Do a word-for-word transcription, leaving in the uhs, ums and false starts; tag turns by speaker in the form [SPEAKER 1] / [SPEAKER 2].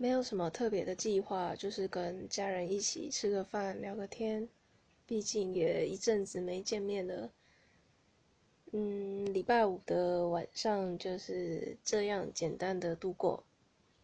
[SPEAKER 1] 没有什么特别的计划，就是跟家人一起吃个饭、聊个天。毕竟也一阵子没见面了。嗯，礼拜五的晚上就是这样简单的度过。